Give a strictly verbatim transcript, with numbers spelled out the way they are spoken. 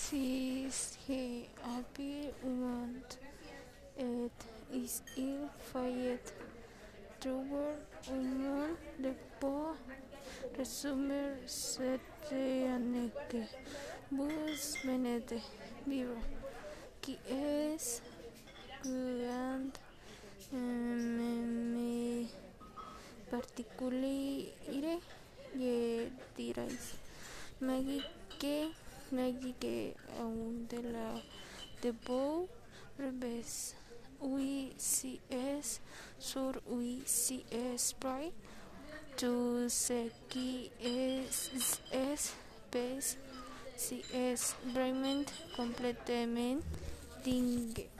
Si he appear want it is il fayet trouver un de po resumer setteaneke bus venete vivo qui es grand me particuliere ye dirais Maggie que Maggie que aún de la de Bow revés oui si es sur oui si es bright tu sé que es es pes si es realmente completamente dingue